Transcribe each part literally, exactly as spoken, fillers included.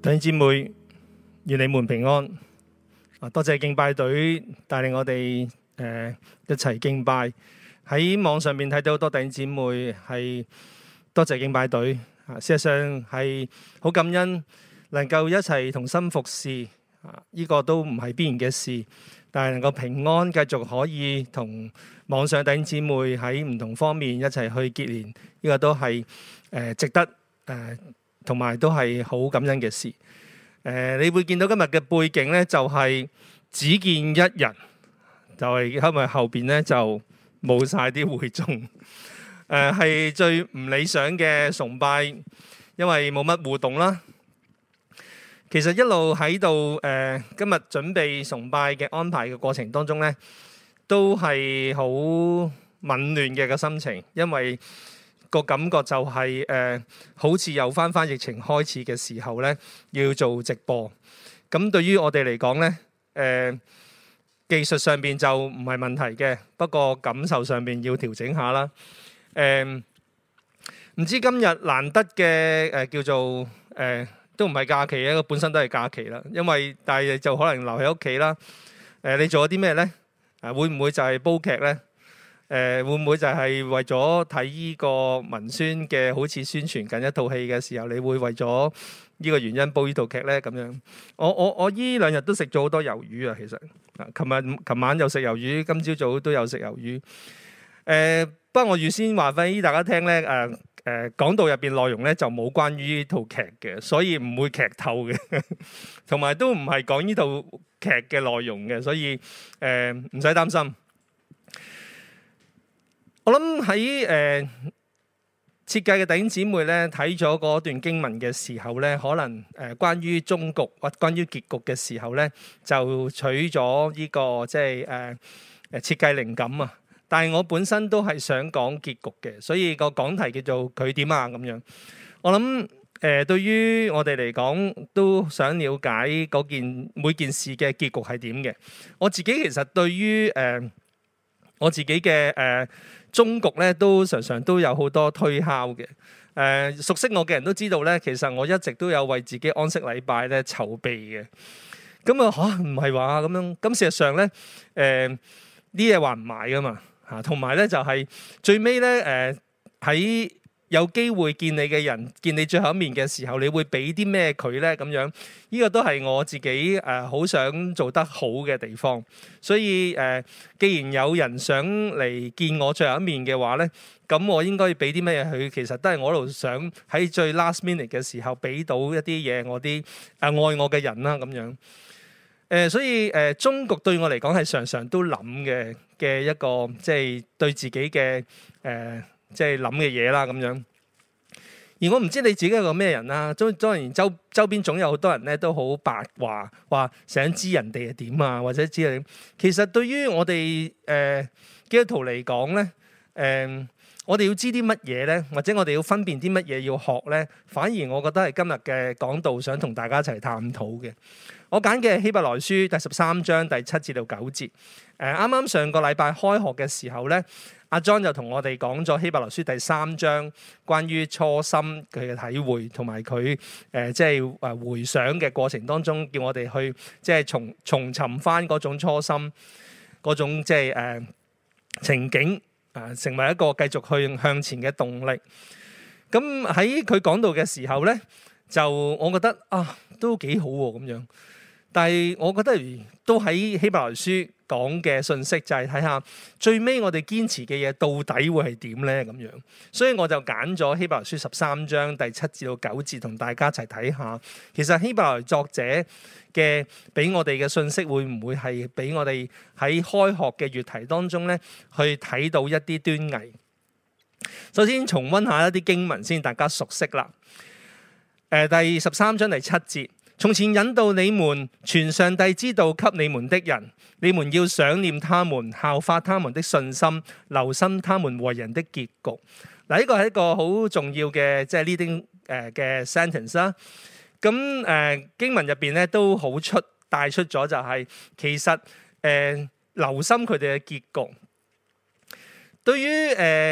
弟兄姊妹，願你們平安。多謝敬拜隊帶領我哋誒、呃、一齊敬拜。喺網上面睇到好多弟兄姊妹係多謝敬拜隊。啊，事實上係好感恩能夠一齊同心服侍。啊，呢個都唔係必然嘅事，但係能夠平安繼續可以同網上弟兄姊妹喺唔同方面一齊去結連，呢、這個都係誒、呃、值得誒。呃同埋都係好感恩嘅事。誒、呃，你會見到今日嘅背景呢，就係、是、只見一人，就係因為後邊呢就冇晒啲會眾。誒、呃，係最唔理想嘅崇拜，因為冇乜互動啦。其實一路喺度誒，今日準備崇拜嘅安排嘅過程當中呢，都係好紊亂嘅個心情，因為個感覺就係、是、誒、呃，好似又翻翻疫情開始嘅時候咧，要做直播。咁對於我哋嚟講咧，誒、呃、技術上邊就唔係問題嘅，不過感受上邊要調整下啦。誒、呃、唔知今日難得嘅誒、呃、叫做誒、呃、都唔係假期嘅，本身都係假期啦。因為但係就可能留喺屋企啦。誒、呃、你做咗啲咩咧？誒會唔會就係煲劇咧？誒、呃、會唔會就係為咗睇呢個文宣嘅，好似宣傳緊一套戲嘅時候，你會為咗呢個原因煲呢套劇呢？咁樣，我我我依兩日都食咗好多魷魚啊！其實，啊，琴日琴晚又食魷魚，今朝早都有食魷魚。誒、呃，不過我預先話俾大家聽呢，誒、呃、誒、呃、講道入邊內容呢就冇關於呢套劇嘅，所以唔會劇透嘅，同埋都唔係講呢套劇嘅內容嘅，所以誒唔使擔心。我諗喺誒設計嘅弟兄姊妹咧睇咗嗰段經文嘅時候咧，可能誒、呃、關於終局或關於結局嘅時候咧，就取咗呢、這個即係誒誒設計靈感啊。但係我本身都係想講結局嘅，所以個講題叫做佢點啊咁樣。我諗誒、呃、對於我哋嚟講，都想了解嗰件每件事嘅結局係點嘅。我自己其實對於誒、呃、我自己嘅誒。呃終局咧都常常都有好多推敲嘅。誒、呃、熟悉我嘅人都知道咧，其實我一直都有為自己安息禮拜咧籌備嘅。咁啊嚇唔係話咁樣，咁事實上咧誒啲嘢話唔買噶嘛嚇，同埋咧就係、是、最尾咧誒喺有機會見你嘅人見你最後一面嘅時候，你會俾啲咩佢咧咁樣？呢、這個都係我自己誒好、呃、想做得好嘅地方。所以誒、呃，既然有人想嚟見我最後一面嘅話咧，咁我應該要俾啲咩佢？其實都係我一路想喺最 last minute 嘅時候俾到一啲嘢我啲誒、呃、愛我嘅人啦咁樣。誒、呃，所以誒、呃，終局對我嚟講係常常都諗嘅嘅一個，即係對自己嘅誒。呃即係諗嘅嘢啦咁樣，而我唔知你自己係個咩人啦。當當然周周邊總有好多人咧都好八卦，話想知人哋係點啊，或者知你。其實對於我哋誒、呃、基督徒嚟講咧，誒、呃、我哋要知啲乜嘢咧，或者我哋要分辨啲乜嘢要學咧，反而我覺得係今日嘅講道想同大家一齊探討嘅。我揀嘅希伯來書第十三章第七至到九節。誒啱啱上個禮拜開學嘅時候咧，阿 John 就同我哋講咗希伯來書第三章關於初心佢嘅體會，同埋佢誒即係誒回想嘅過程當中，叫我哋去即係重重尋翻嗰種初心，嗰種即係誒情景啊、呃，成為一個繼續去向前嘅動力。咁喺佢講到嘅時候咧，就我覺得啊都幾好喎咁樣。但係我覺得都喺希伯來書講嘅信息就係睇下最尾我哋堅持嘅嘢到底會係點咧咁樣，所以我就揀咗希伯來書十三章第七至到九節同大家一齊睇下，其實希伯來作者嘅俾我哋嘅信息會唔會係俾我哋喺開學嘅月題當中咧去睇到一啲端倪。首先重溫下一啲經文先，大家熟悉啦。誒，第十三章第七節。從前引導你們傳上帝之道給你們的人，你們要想念他們，效法他們的信心，留心他們為人的結局。嗱，呢個係一個好重要嘅即係 leading 誒嘅 sentence 啦。咁誒經文入邊咧都好出帶出咗就係、是、其實誒、呃、留心佢哋嘅結局。對於誒、呃、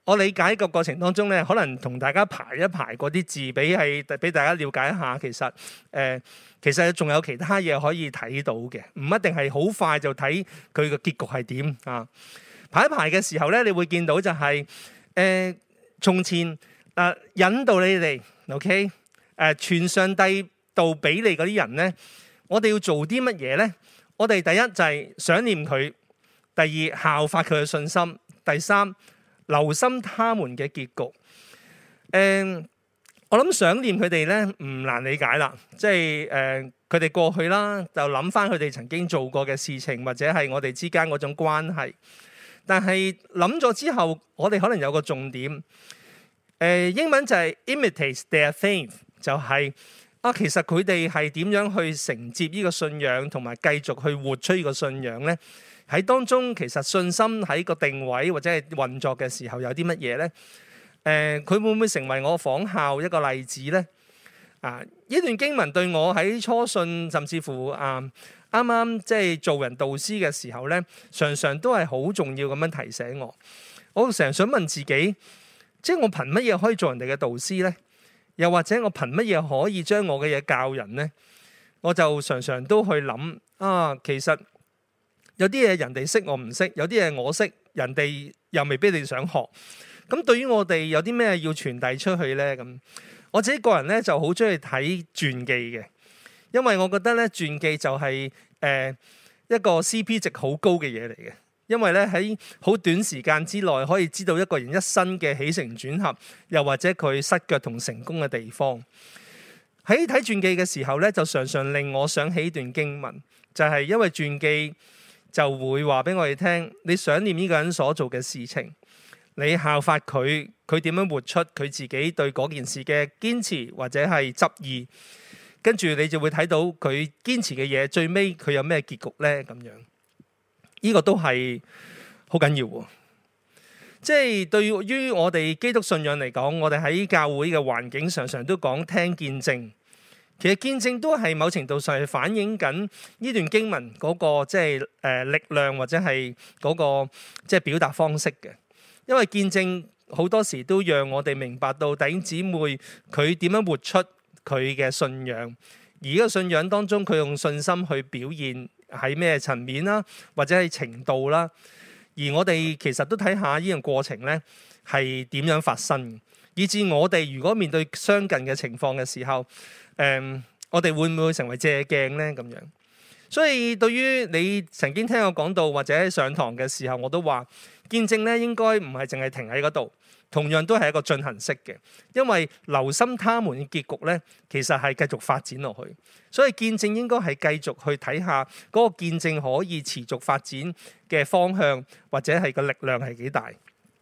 我理解個過程當中咧，可能同大家排一排嗰啲字，俾係俾大家了解一下。其實誒、呃，其實仲有其他嘢可以睇到嘅，唔一定係好快就睇佢個結局係點啊。排一排嘅時候咧，你會見到就係、是、誒、呃、從前啊、呃、引導你哋 ，OK 誒、呃、傳上帝道俾你嗰啲人咧，我哋要做啲乜嘢咧？我哋第一就係想念佢，第二效法佢嘅信心，第三，留心他們嘅結局。誒、呃，我諗想念佢哋咧唔難理解啦，即係誒佢哋過去啦，就諗翻佢哋曾經做過嘅事情，或者係我哋之間嗰種關係。但係諗咗之後，我哋可能有個重點。誒、呃，英文就係 imitate their faith，就係、是、啊，其實佢哋係點樣去承接呢個信仰，同埋繼續去活出呢個信仰咧？喺當中，其實信心喺個定位或者係運作嘅時候有啲乜嘢呢？誒、呃，佢會唔會成為我仿效一個例子呢？啊，呢段經文對我喺初信，甚至乎啊啱啱即係做人導師嘅時候呢，常常都係好重要咁樣提醒我。我成日想問自己，即係我憑乜嘢可以做人哋嘅導師呢？又或者我憑乜嘢可以將我嘅嘢教人呢？我就常常都去諗啊，其實有啲嘢人哋識我唔識，有啲嘢我識，人哋又未必你想學。咁對於我哋有啲咩要傳遞出去呢？咁我自己個人咧就好中意睇傳記嘅，因為我覺得咧傳記就係、是、誒、呃、一個 C P 值好高嘅嘢嚟嘅。因為咧喺好短時間之內可以知道一個人一生嘅起承轉合，又或者佢失腳同成功嘅地方。喺睇傳記嘅時候咧，就常常令我想起一段經文，就係、是、因為傳記就會話俾我哋聽，你想念呢個人所做嘅事情，你效法佢，佢點樣活出佢自己對嗰件事嘅堅持或者係執意，跟住你就會睇到佢堅持嘅嘢，最尾佢有咩結局呢？咁樣呢個都係好緊要喎。即係對於我哋基督信仰嚟講，我哋喺教會嘅環境常常都講聽見證。其實見證都係某程度上係反映緊呢段經文嗰個即係誒力量，或者係嗰個即係表達方式嘅。因為見證好多時都讓我哋明白到弟兄姊妹佢點樣活出佢嘅信仰，而呢個信仰當中佢用信心去表現喺咩層面啦，或者係程度啦。而我哋其實都睇下呢樣過程咧係點樣發生，以至我哋如果面對相近嘅情況嘅時候，誒、嗯，我哋會唔會成為借鏡咧？咁樣，所以對於你曾經聽我講到或者上堂嘅時候，我都話見證咧應該唔係淨係停喺嗰度，同樣都係一個進行式嘅，因為留心他們嘅結局咧，其實係繼續發展落去。所以見證應該係繼續去睇下嗰個見證可以持續發展嘅方向，或者係個力量係幾大。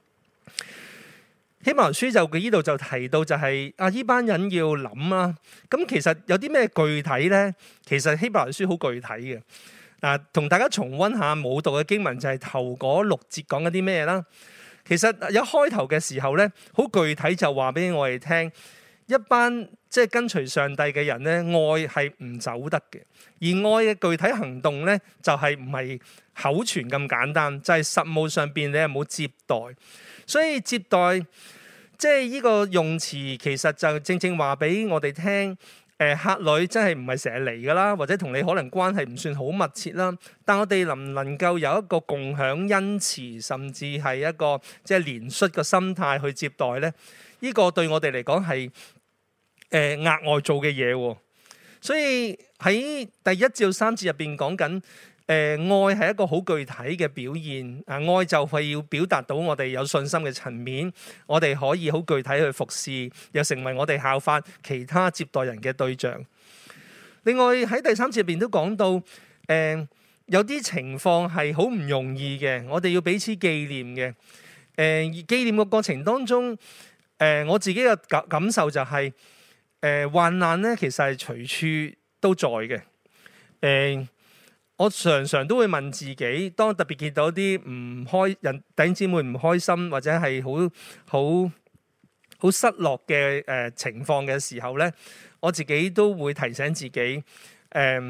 希伯來書就佢呢度就提到就係、是、啊，呢班人要諗啊。咁其實有啲咩具體呢？其實希伯來書好具體嘅。嗱、啊，同大家重溫下冇讀嘅經文就係頭嗰六節講緊啲咩啦。其實一開頭嘅時候呢，好具體就話俾我哋聽，一班即係跟隨上帝嘅人呢，愛係唔走得嘅。而愛嘅具體行動呢，就係唔係口傳咁簡單，就係、是、實務上邊你係冇接待。所以接待即係呢個用詞，其實就正正話俾我哋聽，誒、呃、客旅真係唔係成日嚟噶啦，或者同你可能關係唔算好密切啦。但我哋能唔能夠有一個共享恩慈，甚至係一個即係憐恤嘅心態去接待咧？呢、這個對我哋嚟講係誒額外做嘅嘢。所以喺第一至三節入邊講緊。誒、呃、愛係一個好具體嘅表現，啊愛就係要表達到我哋有信心嘅層面，我哋可以好具體去服侍，又成為我哋效法其他接待人嘅對象。另外喺第三節入邊都講到，誒、呃、有啲情況係好唔容易嘅，我哋要彼此紀念嘅。誒、呃、紀念嘅過程當中，誒、呃、我自己嘅感感受就係、是，誒、呃、患難咧其實係隨處都在嘅，誒、呃。我常常都會問自己，當特別見到啲唔開人弟兄姊妹唔開心或者係好好好失落嘅誒情況嘅時候咧，我自己都會提醒自己，誒、呃、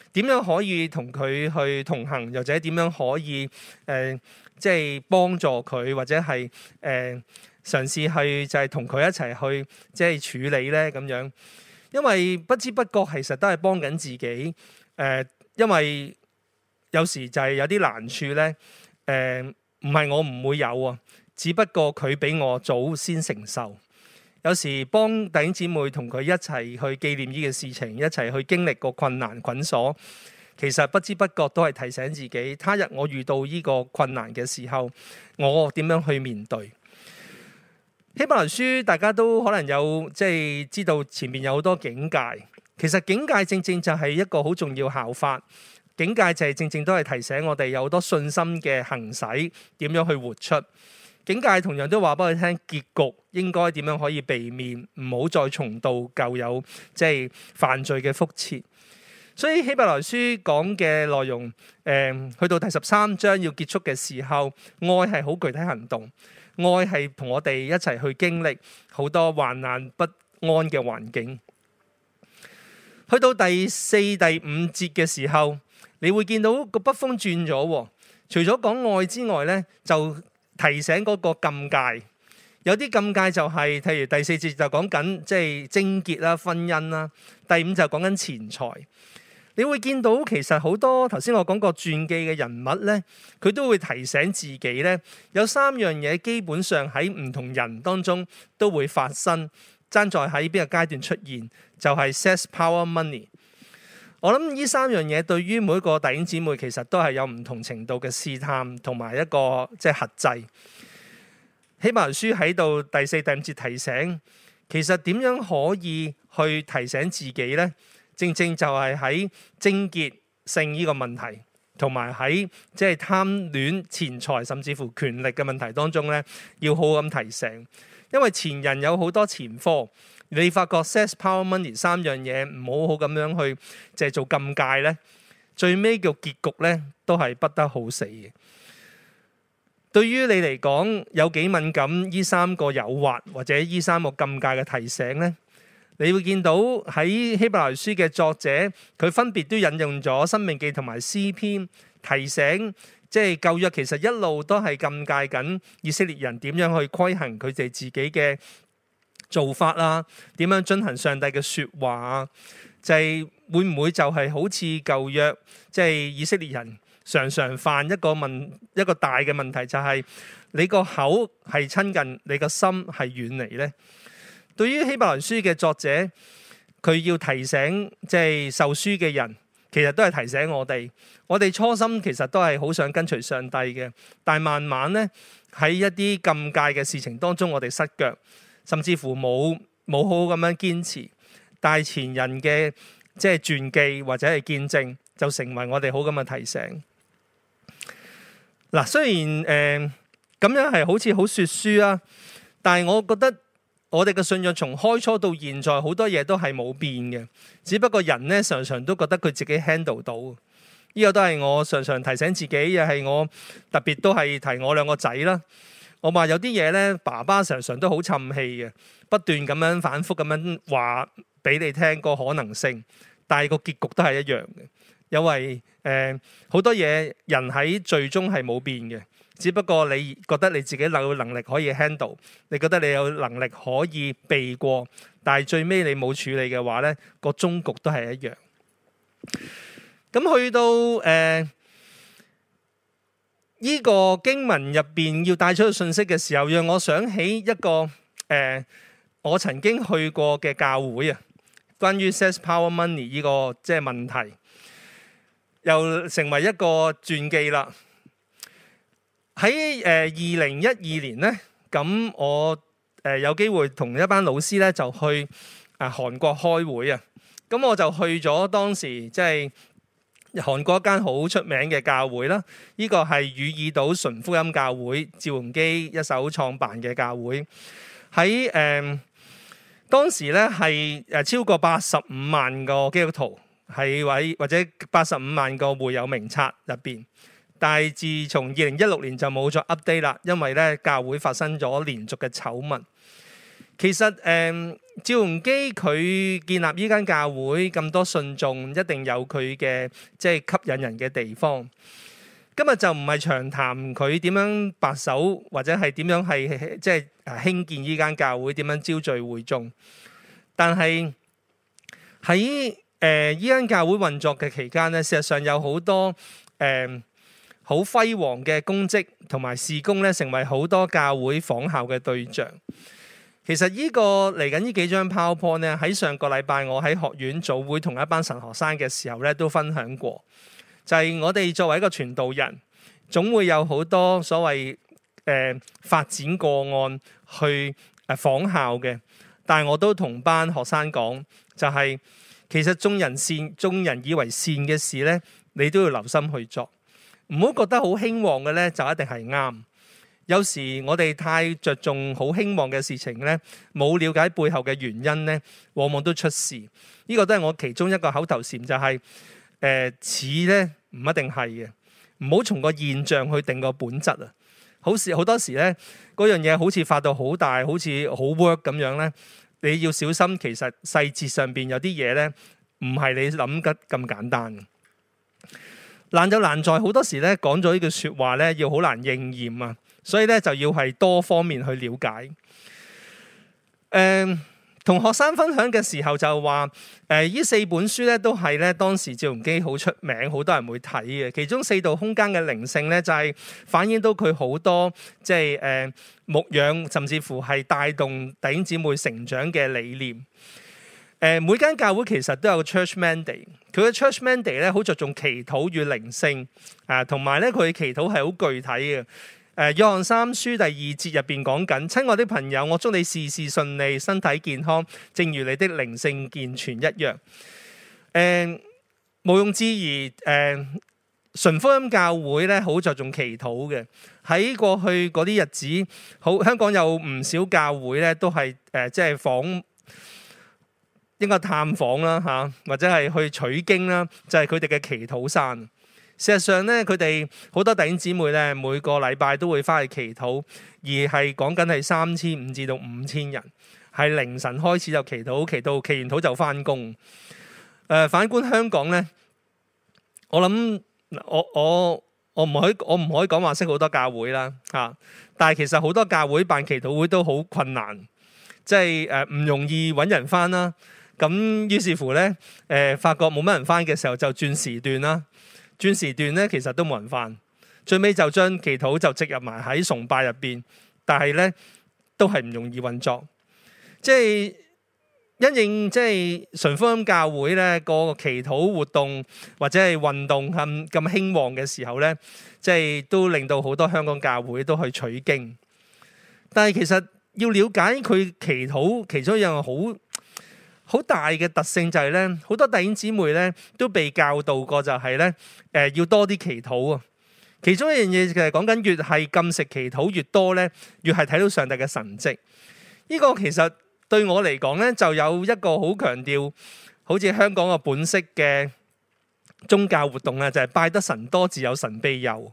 點樣可以同佢去同行，又或者點樣可以誒、呃、即係幫助佢，或者係誒、呃、嘗試去就係同佢一齊去即係處理咧咁樣。因為不知不覺其實都係幫緊自己誒、呃，因為有時就係有啲難處咧誒，唔係我唔會有啊，只不過佢比我早先承受。有時幫弟兄姊妹同佢一齊去紀念呢個事情，一齊去經歷個困難捆鎖，其實不知不覺都係提醒自己，他日我遇到呢個困難嘅時候，我點樣去面對。希伯來書大家都可能有即係知道前面有好多警戒，其實警戒正正就係一個好重要效法，警戒就係正正都係提醒我哋有好多信心嘅行使，點樣去活出。警戒同樣都話俾佢聽，結局應該點樣可以避免，唔好再重蹈舊有即係犯罪嘅覆轍。所以希伯來書講嘅內容，誒、呃、去到第十三章要結束嘅時候，愛係好具體行動，愛係同我哋一齊去經歷好多患難不安嘅環境。去到第四、第五節嘅時候，你會見到個筆鋒轉咗，除咗講愛之外咧，就提醒嗰個禁戒，有啲禁戒就係，譬如第四節就講緊即係貞潔啦、婚姻啦，第五就講緊錢財。你會見到其實好多頭先我講過傳記嘅人物咧，佢都會提醒自己咧，有三樣嘢基本上喺唔同人當中都會發生，爭在喺邊個階段出現，就係 sex、power、money。我諗呢三樣嘢對於每一個弟兄姊妹其實都係有唔同程度嘅試探同埋一個即係核制。希伯來書喺度第四、第五節提醒，其實點樣可以去提醒自己呢？正正就係喺貞潔性呢個問題，同埋喺即係貪戀錢財甚至乎權力嘅問題當中呢，要好好咁提醒。因為前人有好多前科。你發覺 sex、power、money 三樣嘢唔好好咁樣去即係做禁戒咧，最尾嘅結局咧都係不得好死嘅。對於你嚟講有幾敏感呢三個誘惑或者呢三個禁戒嘅提醒咧，你會見到喺希伯來書嘅作者佢分別都引用咗申命記同埋詩篇，提醒即係舊約其實一路都係禁戒緊以色列人點樣去規行佢哋自己嘅做法啦，點樣遵行上帝嘅説話啊？就係、是、會唔會就係好似舊約，即、就、係、是、以色列人常常犯一個問一個大嘅問題，就係、是、你個口係親近，你個心係遠離呢？對於希伯來書嘅作者，佢要提醒即係、就是、受書嘅人，其實都係提醒我哋，我哋初心其實都係好想跟隨上帝嘅，但係慢慢呢，喺一啲禁戒嘅事情當中，我哋失腳。甚至乎冇冇好好咁樣堅持，但係前人嘅即係傳記或者係見證，就成為我哋好咁嘅提醒。嗱，雖然誒咁、呃、樣係好似好說書啊，但係我覺得我哋嘅信仰從開初到現在，好多嘢都係冇變嘅，只不過人咧常常都覺得佢自己 handle 到。呢、這個都係我常常提醒自己，又係我特別都係提我兩個仔啦。我話有啲嘢咧，爸爸常常都好沉氣嘅，不斷咁樣反覆咁樣話俾你聽個可能性，但係個結局都係一樣嘅。因為誒好多嘢人喺最終係冇變嘅，只不過你覺得你自己有能力可以 handle，你覺得你有能力可以避過，但係最尾你冇處理嘅話咧，個終局都係一樣。咁去到誒。呃呢個經文入邊要帶出嘅信息嘅時候，讓我想起一個誒、呃，我曾經去過嘅教會啊，關於 sex、power、money 呢個即係問題，又成為一個傳記啦。喺誒二零一二年咧，咁我誒、呃、有機會同一班老師咧就去啊韓國開會啊，咁我就去咗當時即係。韓國一間好出名嘅教會啦，呢、這個係汝矣島純福音教會，趙鏞基一手創辦嘅教會。喺誒、呃、當時咧係誒超過八十五萬個基督徒係位，或者八十五萬個會友名冊入邊。但係自從二零一六年就冇再 update 啦，因為咧教會發生咗連續嘅醜聞。其實誒、呃、 趙鏞基佢建立呢間教會咁多信眾，一定有佢嘅即係吸引人嘅地方。今日就唔係長談佢點樣白手，或者係點樣係即係興建呢間教會，點樣招聚會眾。但係喺誒呢間教會運作嘅期間咧，事實上有好多誒好輝煌嘅功績同埋事工咧，成為好多教會仿效嘅對象。其實呢個嚟緊呢幾張 PowerPoint 咧，喺上個禮拜我喺學院組會同一班神學生嘅時候咧，都分享過。就係我哋作為一個傳道人，總會有好多所謂誒、呃、發展個案去誒仿效嘅。但係我都同班學生講，就係、是、其實眾人善、眾人以為善嘅事咧，你都要留心去做，唔好覺得好興旺嘅咧就一定係啱。有時我哋太着重好興旺嘅事情咧，冇了解背後嘅原因咧，往往都出事。呢、這個都係我其中一個口頭禪，就係誒似咧唔一定係嘅，唔好從個現象去定個本質啊。好時好多時咧，嗰樣嘢好似發到好大，好似好 work 咁樣咧，你要小心。其實細節上邊有啲嘢咧，唔係你諗得咁簡單。難就難在好多時咧，講咗呢句説話咧，要好難應驗啊。所以咧就要係多方面去了解。誒、呃，同學生分享嘅時候就話，誒、呃，呢四本書咧都係咧當時趙鏞基好出名，好多人會睇嘅。其中四度空間嘅靈性咧，就係、是、反映到佢好多即係誒牧養，甚至乎係帶動弟兄姊妹成長嘅理念。誒、呃，每間教會其實都有個 church mandate，佢嘅 church mandate 咧好着重祈禱與靈性啊，同埋咧佢嘅祈禱係好具體嘅。誒，約翰三書第二節入邊講緊，親愛的朋友，我祝你事事順利，身體健康，正如你的靈性健全一樣。誒、呃，毋庸置疑，誒、呃，純福音教會咧好着重祈禱嘅。喺過去嗰啲日子，好香港有唔少教會咧都係誒、呃，即係訪，應該探訪啦嚇，或者係去取經啦，就係佢哋嘅祈禱山。事實上咧，佢哋好多弟兄姊妹咧，每個禮拜都會翻去祈禱，而係講緊係三千五至到五千人，係凌晨開始就祈禱，祈禱祈完禱就翻工。誒、呃，反觀香港咧，我諗我我我唔可以我唔可以講話識好多教會啦嚇、啊，但係其實好多教會辦祈禱會都好困難，即係誒唔容易揾人翻啦。咁於是乎咧，誒、呃、發覺冇乜人翻嘅時候就轉時段啦。轉時段咧，其實都冇人翻，最尾就將祈禱就植入埋喺崇拜入邊，但係咧都係唔容易運作。即係因應即係純福音教會咧個祈禱活動或者係運動咁咁興旺嘅時候咧，即係都令到好多香港教會都去取經。但係其實要了解佢祈禱其中一樣好好大嘅特性就係咧，好多弟兄姊妹咧都被教導過就係咧，誒要多啲祈禱啊。其中一樣嘢就係講緊越係禁食祈禱越多咧，越係睇到上帝嘅神蹟。呢個其實對我嚟講咧，就有一個好強調，好似香港嘅本色嘅宗教活動啊，就係拜得神多，自有神庇佑。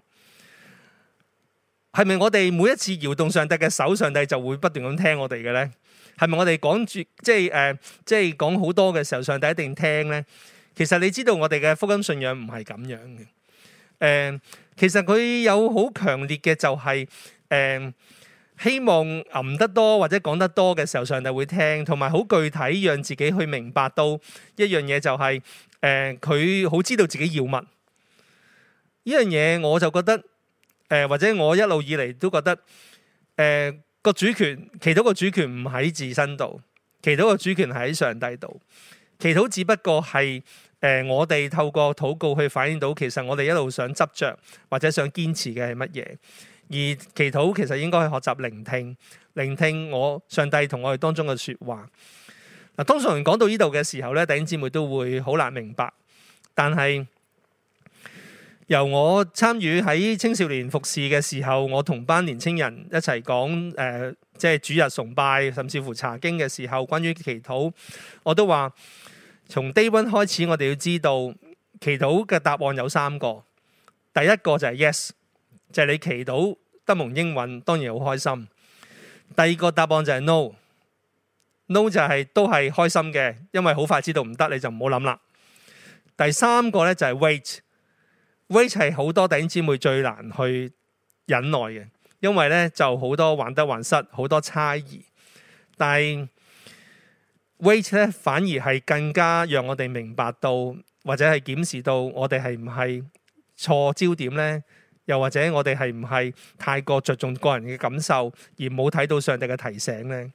係咪我哋每一次搖動上帝嘅手，上帝就會不斷咁聽我哋嘅咧？係咪我哋講住即係誒，即係講好多嘅時候，上帝一定聽咧？其實你知道我哋嘅福音信仰唔係咁樣嘅。誒、呃，其實佢有好強烈嘅就係、是、誒、呃，希望吟得多或者講得多嘅時候，上帝會聽，同埋好具體讓自己去明白到一樣嘢就係、是、誒，佢、呃、好知道自己要乜。呢樣嘢我就覺得誒、呃，或者我一路以嚟都覺得誒。呃個主權，祈禱個主權唔喺自身度，祈禱個主權係喺上帝度。祈禱只不過係誒、呃，我哋透過禱告去反映到，其實我哋一路想執着或者想堅持嘅係乜嘢。而祈禱其實應該去學習聆聽，聆聽我上帝同我哋當中嘅說話。嗱，通常講到呢度嘅時候咧，弟兄姊妹都會好難明白，但係由我參與喺青少年服侍嘅時候，我同班年青人一齊講誒，即係主日崇拜，甚至乎查經嘅時候，關於祈禱，我都話從 day one 開始，我哋要知道祈禱嘅答案有三個。第一個就係 yes， 就係你祈禱得蒙應允，當然好開心。第二個答案就係 no， ，no 就係都係開心嘅，因為好快知道唔得，你就唔好諗啦。第三個咧就係 wait，wait 係好多弟兄姊妹最難去忍耐嘅，因為咧就好多患得患失，好多猜疑。但係 wait 咧反而係更加讓我哋明白到，或者係檢視到我哋係唔係錯焦點咧，又或者我哋係唔係太過着重個人嘅感受，而冇睇到上帝嘅提醒咧。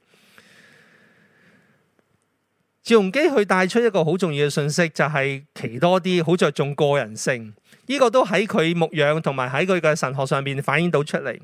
趙鏞基去帶出一個好重要嘅信息，就係祈多啲，好着重個人性。呢個都喺佢牧養同埋喺佢嘅神學上面反映到出嚟。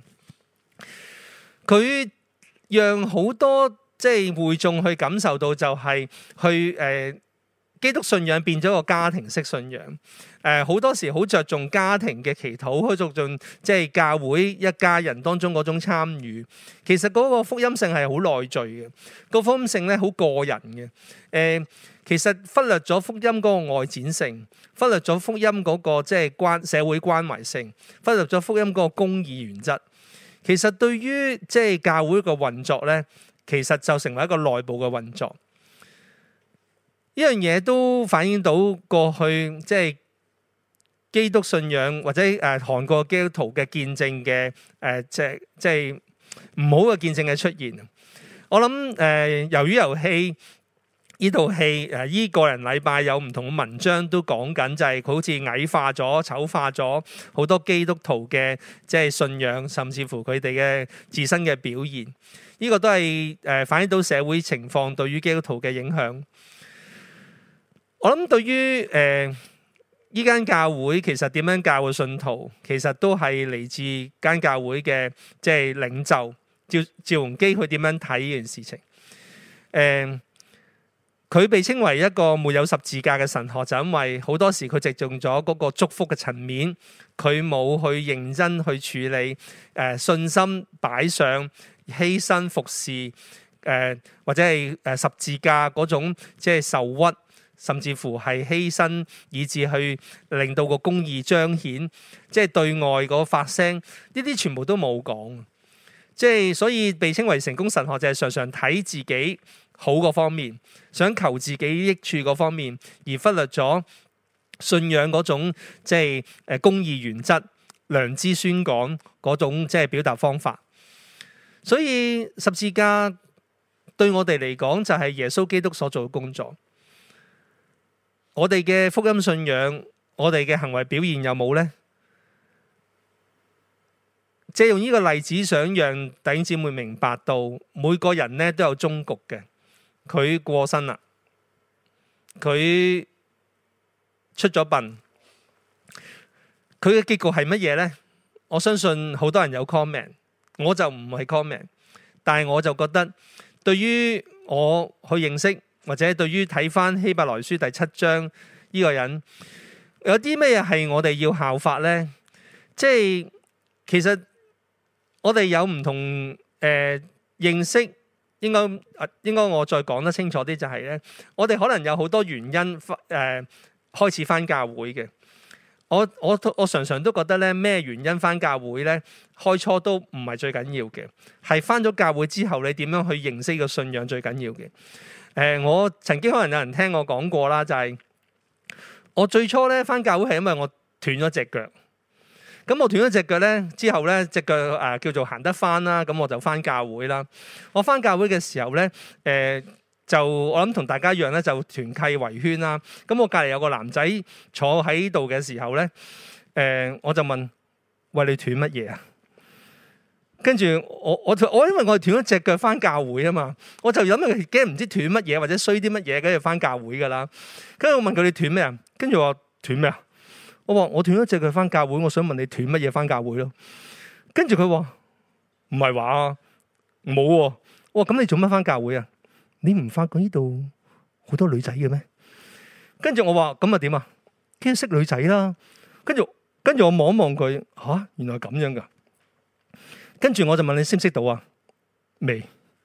佢讓好多即係會眾去感受到，就係去誒、呃、基督信仰變咗個家庭式信仰。誒、呃、好多時好着重家庭嘅祈禱，好着重即係教會一家人當中嗰種參與。其實嗰個福音性係好內在嘅，個福音性咧好個人嘅。誒、呃、其實忽略咗福音嗰個外展性，忽略咗福音嗰個即係關社會關懷性，忽略咗福音嗰個公義原則。其實對於即係教會嘅運作咧，其實就成為一個內部嘅運作。呢樣嘢都反映到過去即係基督信仰或者誒韓國基督徒嘅見證嘅誒即係即係唔好嘅見證嘅出現。我諗誒魷魚遊戲呢套戲誒依個人禮拜有唔同嘅文章都講緊，就係佢好似矮化咗、醜化咗好多基督徒嘅即係信仰，甚至乎佢哋嘅自身嘅表現。呢個都係誒反映到社會情況對於基督徒嘅影響。我諗對於誒依間教會其實點樣教嘅信徒，其實都係嚟自間教會嘅即係領袖趙趙鏞基，佢點樣睇呢件事情？誒、呃，佢被稱為一個沒有十字架嘅神學，就因為好多時佢着重咗嗰個祝福嘅層面，佢冇去認真去處理誒、呃、信心擺上犧牲服侍誒、呃、或者係誒十字架嗰種即係受屈。甚至乎係犧牲，以致去令到個公義彰顯，即係對外嗰發聲，呢啲全部都冇講。即係所以被稱為成功神學，就係常常睇自己好嗰方面，想求自己益處嗰方面，而忽略咗信仰嗰種即係誒公義原則、良知宣講嗰種即係表達方法。所以十字架對我哋嚟講，就係耶穌基督所做嘅工作。我哋嘅福音信仰，我哋嘅行為表現有冇呢？借用呢個例子，想讓弟兄姊妹明白到，每個人咧都有終局嘅。佢過身啦，佢出咗殯，佢嘅結局係乜嘢呢？我相信好多人有 comment， 我就唔係 comment， 但係我就覺得，對於我去認識。或者對於睇返希伯來書第七章呢個人，有啲咩係我哋要效法呢？即係其實我哋有唔同誒、呃、認識，應該應該我再講得清楚啲就係咧，我哋可能有好多原因誒、呃、開始返教會嘅。我我我常常都覺得咧，咩原因返教會咧？開初都唔係最緊要嘅，係返咗教會之後，你點樣去認識個信仰最緊要嘅。誒、呃，我曾經可能有人聽我講過啦，就係、是、我最初咧返教會係因為我斷咗隻腳。咁我斷咗隻腳咧之後咧，隻腳誒、呃、叫做行得返啦，咁我就返教會啦。我返教會嘅時候咧，誒、呃、就我諗同大家一樣咧，就團契圍圈啦。咁我隔離有個男仔坐喺度嘅時候咧，誒、呃、我就問：喂，你斷乜嘢啊？跟住我我我因為我係斷咗隻腳返教會啊嘛，我就諗佢驚唔知斷乜嘢或者衰啲乜嘢，跟住返教會噶啦。跟住我問佢：你斷咩啊？跟住我話斷咩啊？我話我斷咗隻腳返教會，我想問你斷乜嘢返教會咯？跟住佢話唔係話冇喎。我話咁你做乜返教會啊？你唔發覺呢度好多女仔嘅咩？跟住我話咁啊點啊？驚識女仔啦。跟住跟住我望一望佢，吓、啊、原來咁樣噶。跟住我就問你識唔識到啊？未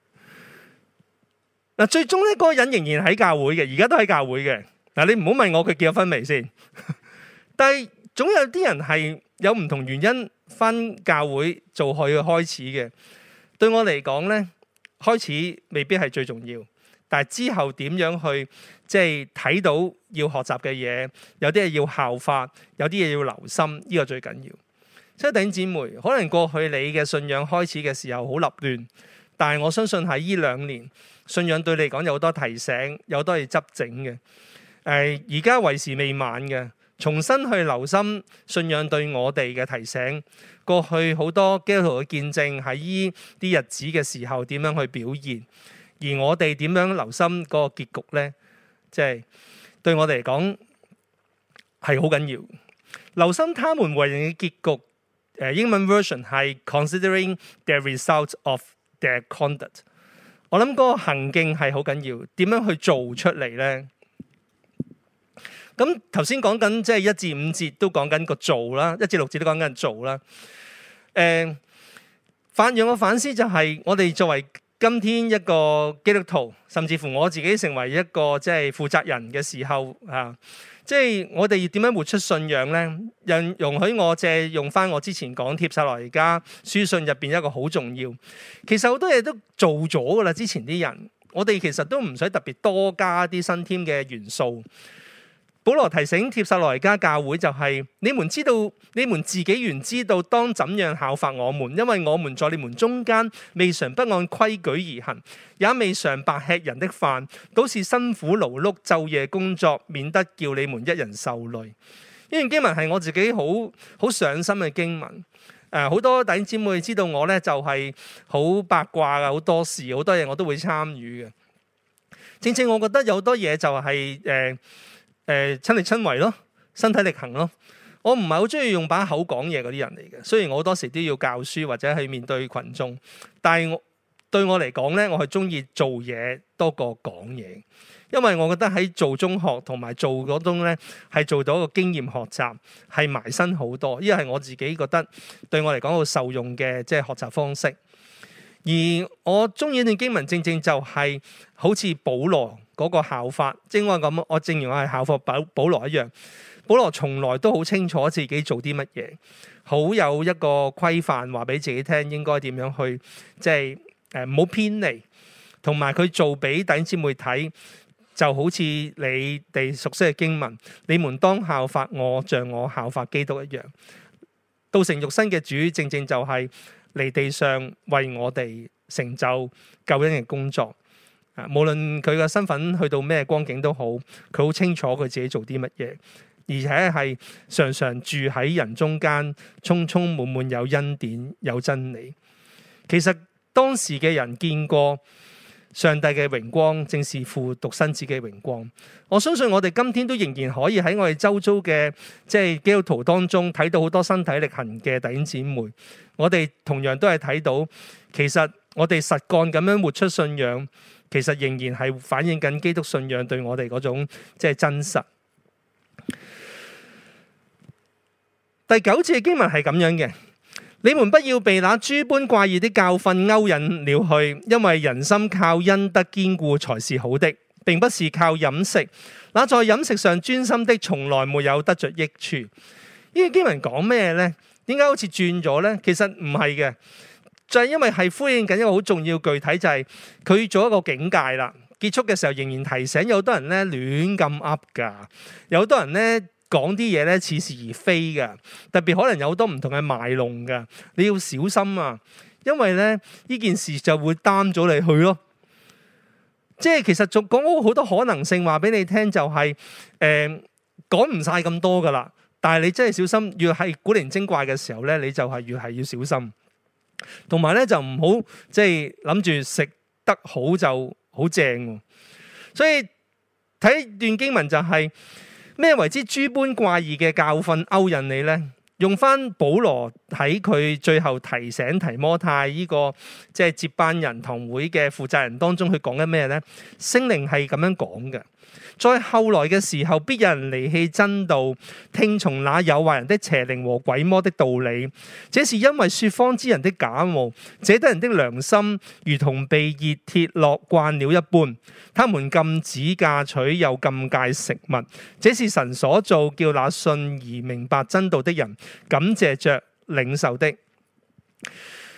嗱，最終咧嗰個人仍然喺教會嘅，而家都喺教會嘅嗱。你唔好問我佢結咗婚未先，但係總有啲人係有唔同原因返教會做佢嘅開始嘅。對我嚟講咧，開始未必係最重要， 但係之後點樣去即係睇到要學習嘅嘢，有啲嘢要效法，有啲嘢要留心，呢個最緊要。即係弟兄姊妹，可能過去你嘅信仰開始嘅時候好立亂，但係我相信喺呢兩年，信仰對你嚟講有好多提醒，有好多嘢執整嘅。誒，而家為時未晚嘅，重新去留心信仰對我哋嘅提醒。過去好多基督徒嘅見證喺呢啲日子嘅時候點樣去表現，而我哋點樣留心嗰個結局呢？即係對我哋嚟講係好緊要。留心他們為人嘅結局。誒，英文 version 係 considering the result of their conduct。我諗嗰個行徑係好緊要，點樣去做出嚟呢？咁頭先講緊即係一至五節都講緊個做啦，一至六節都講緊做啦。誒、呃，反讓我反思就係我哋作為今天一個基督徒，甚至乎我自己成為一個即係負責人嘅時候啊。即係我哋點樣活出信仰呢？容容許我借用翻我之前講帖撒羅尼迦書信入邊一個好重要。其實好多嘢都做咗噶啦，之前啲人，我哋其實都唔使特別多加啲新添嘅元素。保羅提醒帖撒羅尼迦教會就係、是：你們知道，你們自己原知道當怎樣效法我們，因為我們在你們中間未嘗不按規矩而行，也未嘗白吃人的飯，都是辛苦勞碌，晝夜工作，免得叫你們一人受累。呢段經文係我自己好好上心嘅經文。誒、呃，好多弟兄姊妹知道我咧就係好八卦嘅，好多事，好多嘢我都會參與嘅。正正我覺得有好多嘢就係、是、誒。呃誒，親力親為咯，身體力行咯。我唔係好中意用把口講嘢嗰啲人嚟嘅。雖然我好多時都要教書或者去面對群眾，但係我對我嚟講咧，我係中意做嘢多過講嘢，因為我覺得喺做中學同埋做嗰種咧係做到一個經驗學習，係埋身好多。呢個係我自己覺得對我嚟講好受用嘅即係學習方式。而我中意呢段經文，正正就係好似保羅嗰個效法，正我咁，我正如我係效法保保羅一樣。保羅從來都好清楚自己做啲乜嘢，好有一個規範，話俾自己聽應該點樣去，即係誒唔好偏離。同埋佢做俾弟兄姊妹睇，就好似你哋熟悉嘅經文，你們當效法我，像我效法基督一樣。道成肉身嘅主，正正就係嚟地上為我哋成就救恩嘅工作。啊，無論佢嘅身份去到咩光景都好，佢好清楚佢自己做啲乜嘢，而且係常常住喺人中間，充充滿滿有恩典有真理。其實當時嘅人見過上帝嘅榮光，正是父獨生子嘅榮光。我相信我哋今天都仍然可以喺我哋周遭嘅即係基督徒當中睇到好多身體力行嘅弟兄姊妹。我哋同樣都係睇到，其實我哋實幹咁樣活出信仰，其實仍然係反映緊基督信仰對我哋嗰種即係真實。第九節嘅經文係咁樣嘅：你們不要被那諸般怪異的教訓勾引了去，因為人心靠恩德堅固才是好的，並不是靠飲食。那在飲食上專心的，從來沒有得着益處。呢個經文講咩呢？點解好似轉咗呢？其實唔係嘅，就係因為係呼應緊一個好重要具體，就係佢做一個警戒啦。結束嘅時候仍然提醒有好多人咧亂咁噏噶，有好多人咧講啲嘢咧似是而非噶，特別可能有好多唔同嘅賣弄噶，你要小心啊！因為咧呢件事就會擔咗你去咯。即係其實仲講咗好多可能性，話俾你聽就係誒講唔晒咁多噶啦。但係你真係小心，越係古靈精怪嘅時候咧，你就係越係要小心。同埋咧就唔好即係諗住食得好就好正。所以睇段經文就係咩為之諸般怪異嘅教訓勾引你呢？用翻保羅喺佢最後提醒提摩太呢個即係接班人堂會嘅負責人當中，佢講緊咩呢？聖靈係咁樣講嘅。在後來嘅時候，必有人離棄真道，聽從那誘惑人的邪靈和鬼魔的道理。這是因為說謊之人的假冒，這得人的良心如同被熱鐵烙慣了一般。他們禁止嫁娶，又禁戒食物。這是神所造，叫那信而明白真道的人感謝着領受的。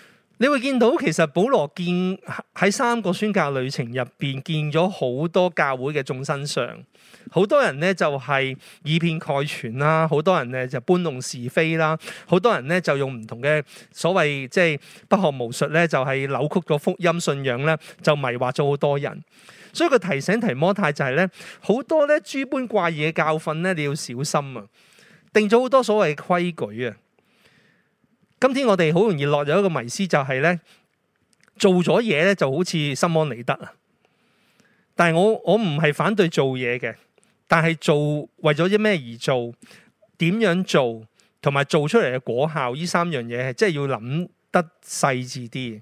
你會見到其實保羅見喺三個宣教旅程入邊見咗好多教會嘅眾生相，好多人咧就係以偏概全啦，好多人咧就搬弄是非啦，好多人咧就用唔同嘅所謂即係不學無術咧，就係扭曲咗福音信仰咧，就迷惑咗好多人。所以佢提醒提摩太就係咧，好多咧諸般怪異嘅教訓咧，你要小心啊！定咗好多所謂規矩啊！今天我哋好容易落咗一個迷思，就係咧做咗嘢咧就好似心安理得啊！但係我我唔係反對做嘢嘅，但係做為咗啲咩而做，點樣做，同埋做出嚟嘅果效，呢三樣嘢係真係要諗得細緻啲。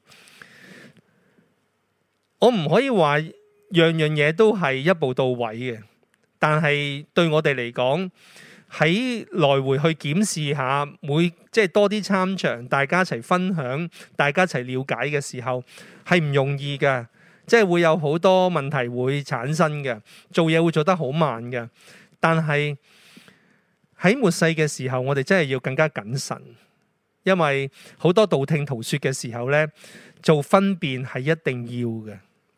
我唔可以話樣樣嘢都係一步到位嘅，但係對我哋嚟講，喺來回去檢視下，每即係多啲參詳，大家一齊分享，大家一齊了解嘅時候，係唔容易嘅，即係會有好多問題會產生嘅，做嘢會做得好慢嘅。但係喺末世嘅時候，我哋真係要更加謹慎，因為好多道聽途說嘅時候咧，做分辨係一定要嘅。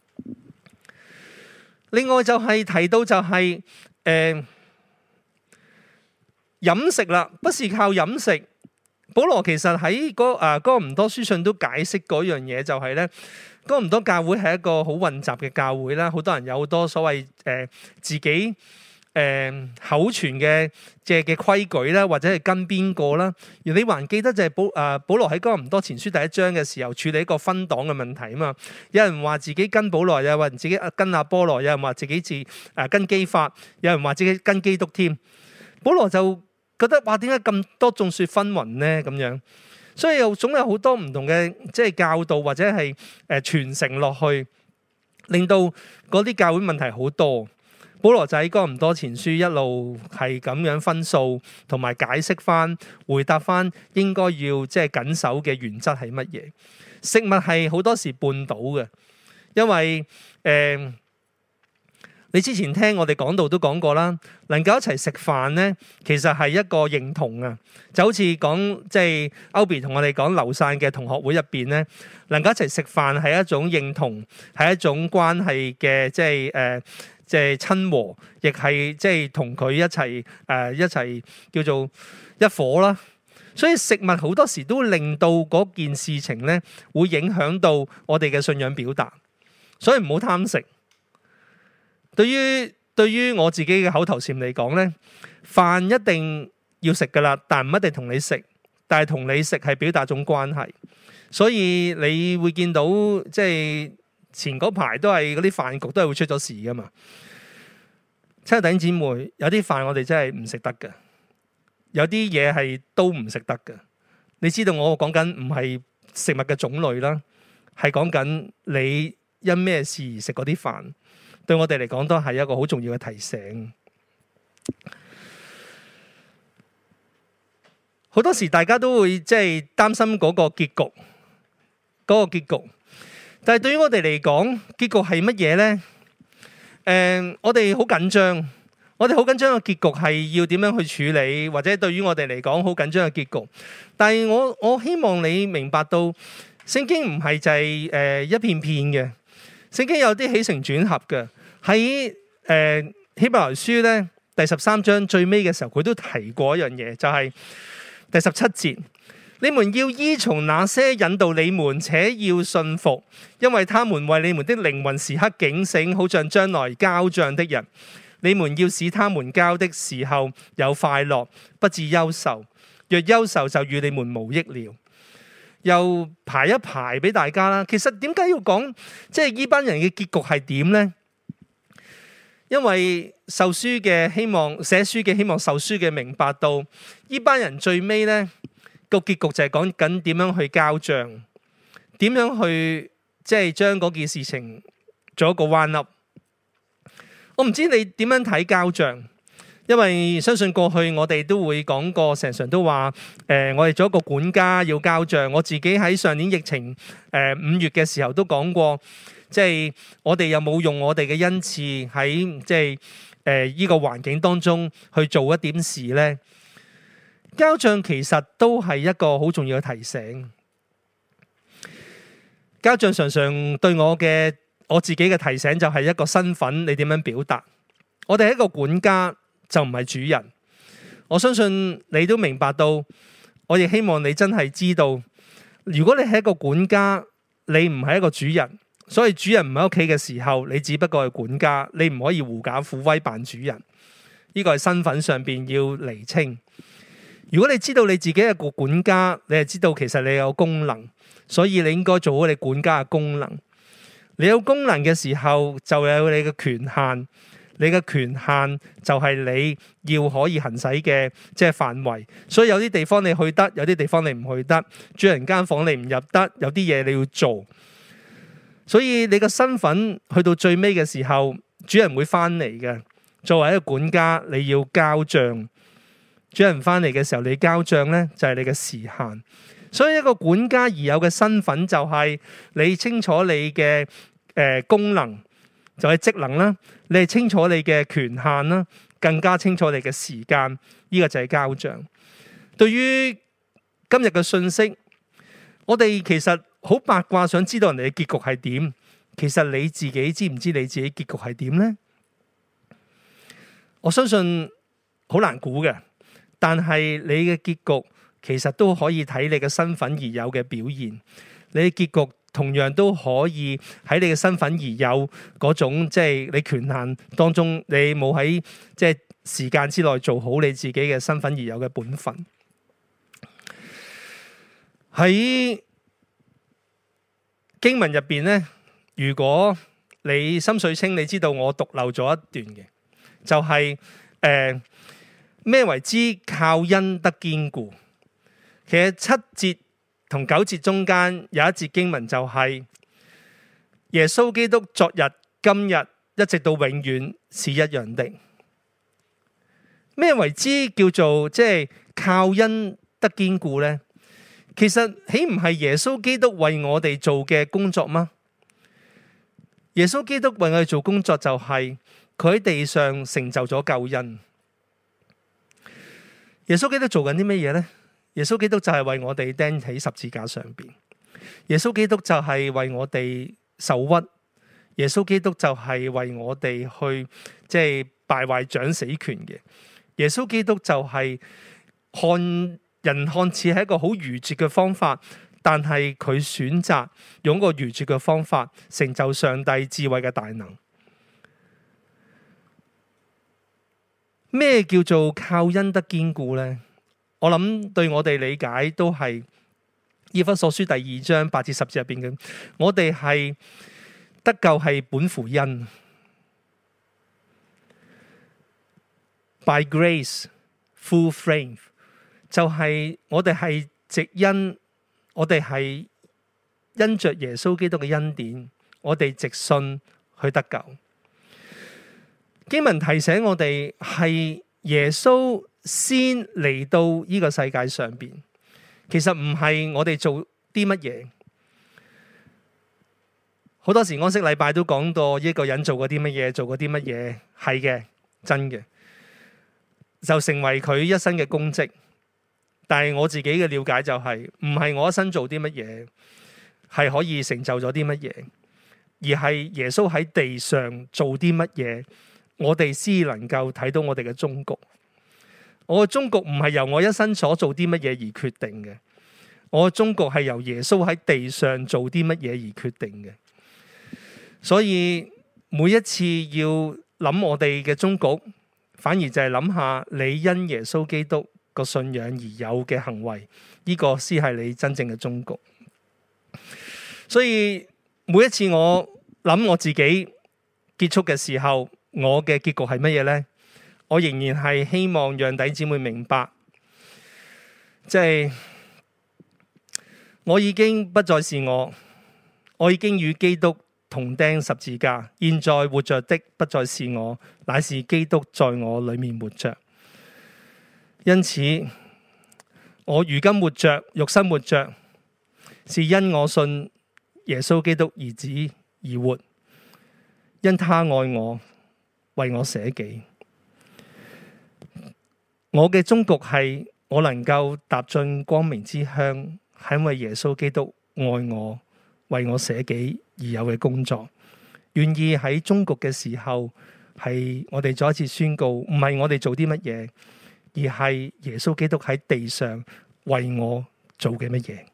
另外就係提到就係、是、誒。呃飲食啦，不是靠飲食。保羅其實喺嗰誒哥林多書信都解釋嗰樣嘢，就係咧哥林多教會係一個好混雜嘅教會啦，好多人有好多所謂誒、呃、自己誒、呃、口傳嘅即係嘅規矩啦，或者係跟邊個啦。而你還記得就係保誒、呃、保羅喺哥林多前書第一章嘅時候處理一個分黨嘅問題啊嘛。有人話自己跟保羅，有人自己跟亞波羅，有人話自己自誒、呃、跟基法，有人話自己跟基督添。保羅就覺得哇，點解咁多眾說紛紜呢？咁樣，所以又總有好多唔同嘅即係教導或者係誒傳承落去，令到嗰啲教會問題好多。保羅就喺哥林多前書一路係咁樣分數，同埋解釋翻、回答翻應該要即係緊守嘅原則係乜嘢。食物係好多時絆倒嘅，因為誒。呃你之前聽我哋講道都講過啦，能夠一齊食飯咧，其實係一個認同啊，就好似講即係歐比同我哋講流散嘅同學會入邊咧，能夠一齊食飯係一種認同，係一種關係嘅即係誒即係親和，亦係即係同佢一齊誒、呃、一齊叫做一夥啦。所以食物好多時都令到嗰件事情咧，會影響到我哋嘅信仰表達，所以唔好貪食。對於對於我自己嘅口頭禪嚟講咧，飯一定要食噶啦，但唔一定同你食，但係同你食係表達種關係，所以你會見到即係前嗰排都係嗰啲飯局都係會出咗事噶嘛。親愛弟兄姊妹，有啲飯我哋真係唔食得嘅，有啲嘢係都唔食得嘅。你知道我講緊唔係食物嘅種類啦，係講緊你因咩事而食嗰啲飯。對我哋嚟講都係一個好重要嘅提醒。好多時大家都會即係擔心嗰個結局，嗰個結局。但係對於我哋嚟講，結局係乜嘢呢？誒，我哋好緊張，我哋好緊張嘅結局係要點樣去處理，或者對於我哋嚟講好緊張嘅結局。但係我我希望你明白到，聖經唔係就係誒一片片嘅。聖經有啲起承轉合嘅，喺誒希伯來書咧第十三章最尾嘅時候，佢都提過一樣嘢，就係、是、第十七節：你們要依從那些引導你們，且要信服，因為他們為你們的靈魂時刻警醒，好像將來交賬的人。你們要使他們交的時候有快樂，不致憂愁。若憂愁，就與你們無益了。又排一排俾大家啦。其實點解要講即係呢班人嘅結局係點呢？因為受書嘅希望，寫書嘅希望，受書嘅明白到呢班人最尾呢個結局就係講緊點樣去交賬，點樣去即係將嗰件事情做一個彎凹。我唔知你點樣睇交賬。因為相信過去我哋都會講過，成常都話誒、呃，我哋做一個管家要交賬。我自己喺上年疫情誒五月嘅時候都講過，即係我哋有冇用我哋嘅恩賜喺即係誒呢個環境當中去做一點事呢？交賬其實都係一個好重要嘅提醒。 交賬常常對我嘅我自己嘅提醒就係一個身份，你點樣表達？我哋係一個管家，就唔係主人。我相信你都明白到，我亦希望你真係知道，如果你係一個管家，你唔係一個主人。所以主人唔喺屋企嘅時候，你只不過係管家，你唔可以狐假虎威扮主人。呢個係身份上邊要釐清。如果你知道你自己係個管家，你係知道其實你有功能，所以你應該做好你管家嘅功能。你有功能嘅時候，就有你嘅權限。你嘅權限就係你要可以行使嘅即係範圍。所以有啲地方你去得，有啲地方你唔去得。主人間房你唔入得，有啲嘢你要做。所以你個身份去到最尾嘅時候，主人會翻嚟嘅。作為一個管家，你要交賬。主人翻嚟嘅時候，你交賬呢，就係你嘅時限。所以一個管家而有嘅身份就係你清楚你嘅誒、呃、功能，就係職能啦。你係清楚你嘅權限啦，更加清楚你嘅時間。呢個就係交賬。對於今日嘅信息，我哋其實好八卦，想知道人哋嘅結局係點。其實你自己知唔知你自己結局係點呢？我相信好難估嘅，但係你嘅結局其實都可以睇你嘅身份而有嘅表現。你嘅結局同樣都可以喺你嘅身份而有嗰種即係你權限當中，你冇喺即係時間之內做好你自己嘅身份而有嘅本分。喺經文入邊呢，如果你心水清，你知道我讀漏咗一段嘅，就係誒咩為之靠恩得堅固。其實七節同九節中間有一節經文就係耶穌基督昨日、今日一直到永遠是一樣的。咩為之叫做即係靠恩得堅固呢？其實豈唔係耶穌基督為我哋做嘅工作嗎？耶穌基督為我哋做工作就係佢喺地上成就咗救恩。耶穌基督做緊啲乜嘢呢？耶穌基督就係為我哋釘喺十字架上邊。耶穌基督就係為我哋受屈。耶穌基督就係為我哋去即係敗壞掌死權嘅。耶穌基督就係看人看似係一個好愚拙嘅方法，但係佢選擇用個愚拙嘅方法成就上帝智慧嘅大能。咩叫做靠恩得堅固呢？我諗對我哋理解都係以弗所書第二章八至十節入邊嘅，我哋係得救係本乎恩 ，by grace through faith，就係我哋係藉恩，我哋係因着耶穌基督嘅恩典，我哋藉信去得救。經文提醒我哋係耶穌先嚟到呢個世界上邊，其實唔係我哋做啲乜嘢。好多時安息禮拜都講到一個人做過啲乜嘢，做過啲乜嘢，係嘅，真嘅，就成為佢一生嘅功績。但係我自己嘅了解就係，唔係我一生做啲乜嘢，係可以成就咗啲乜嘢，而係耶穌喺地上做啲乜嘢，我哋先能夠睇到我哋嘅終局。我嘅終局唔係由我一生所做啲乜嘢而決定嘅，我嘅終局係由耶穌喺地上做啲乜嘢而決定嘅。所以每一次要諗我哋嘅終局，反而就係諗下你因耶穌基督個信仰而有嘅行為，呢個先係你真正嘅終局。所以每一次我諗我自己結束嘅時候，我嘅結局係乜嘢呢？我仍然係希望讓弟兄姊妹明白，即係我已經不再是我，我已經與基督同釘十字架。現在活着的不再是我，乃是基督在我裡面活着。因此，我如今活着，肉身活着，是因我信耶穌基督兒子而活，因他愛我，為我捨己。我嘅終局係我能夠踏進光明之鄉，係因為耶穌基督愛我， 為我捨己而有嘅工作，願意喺終局嘅時候，係我哋再一次宣告，唔係我哋做啲乜嘢，而係耶穌基督喺地上為我做嘅乜嘢。